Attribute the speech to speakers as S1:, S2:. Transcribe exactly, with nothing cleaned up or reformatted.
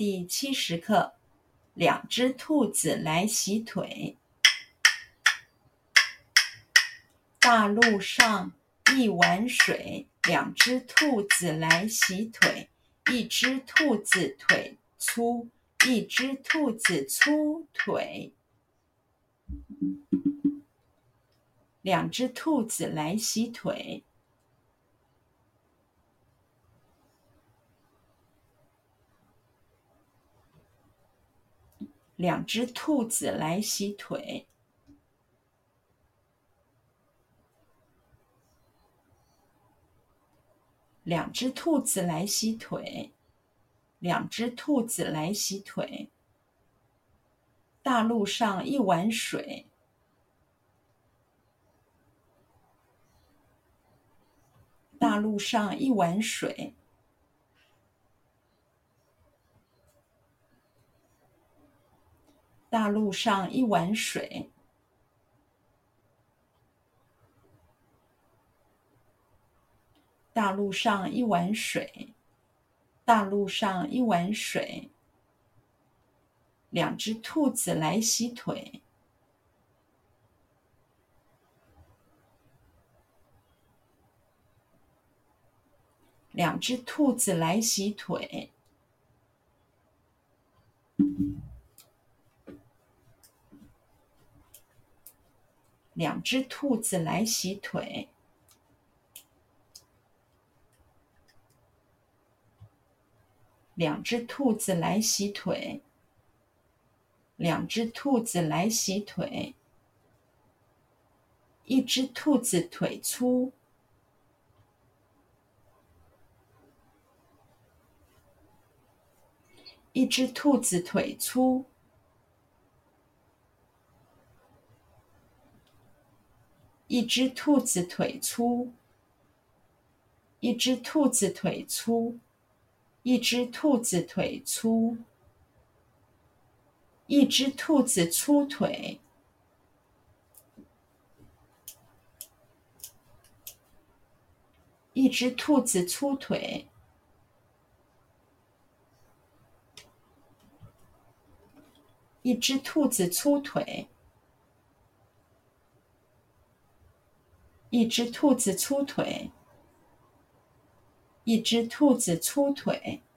S1: 第七十課，兩隻兔子來洗腿。大路上一碗水，兩隻兔子來洗腿。一隻兔子腿粗，一隻兔子粗腿。兩隻兔子來洗腿。兩隻兔子來洗腿。兩隻兔子來洗腿。兩隻兔子來洗腿。大路上一碗水。大路上一碗水。大路上一碗水。大路上一碗水。大路上一碗水。兩隻兔子來洗腿。兩隻兔子來洗腿。兩隻兔子來洗腿。兩隻兔子來洗腿。兩隻兔子來洗腿。一隻兔子腿粗。一隻兔子腿粗。一隻兔子腿粗。一隻兔子腿粗。一隻兔子腿粗。一隻兔子粗腿。一隻兔子粗腿。一隻兔子粗腿。一隻兔子粗腿。一隻兔子粗腿。